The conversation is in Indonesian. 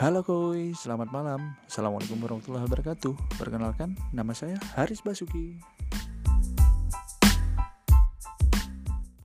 Halo Koi, selamat malam. Assalamualaikum warahmatullahi wabarakatuh. Perkenalkan, nama saya Haris Basuki.